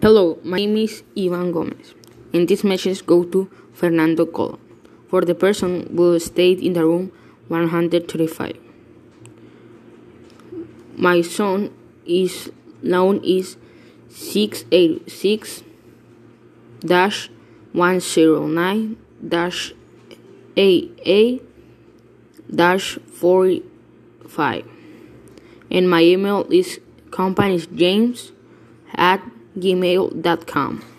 Hello, my name is Ivan Gomez, and this message goes to Fernando Colon, for the person who stayed in the room 135. My son is loan is 686-109-AA-45, and my email is companiesjames@gmail.com.